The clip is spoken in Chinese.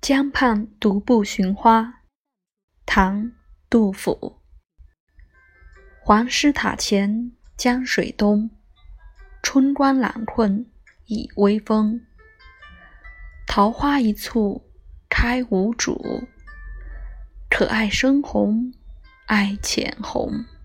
江畔独步寻花，唐·杜甫。黄师塔前江水东，春光懒困倚微风。桃花一簇开无主，可爱深红爱浅红。